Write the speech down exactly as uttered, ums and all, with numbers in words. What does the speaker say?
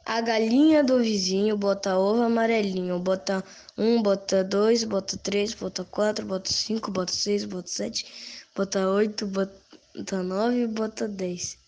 A galinha do vizinho bota ovo amarelinho. Bota um, bota dois, bota três, bota quatro, bota cinco, bota seis, bota sete, bota oito, bota nove, bota dez.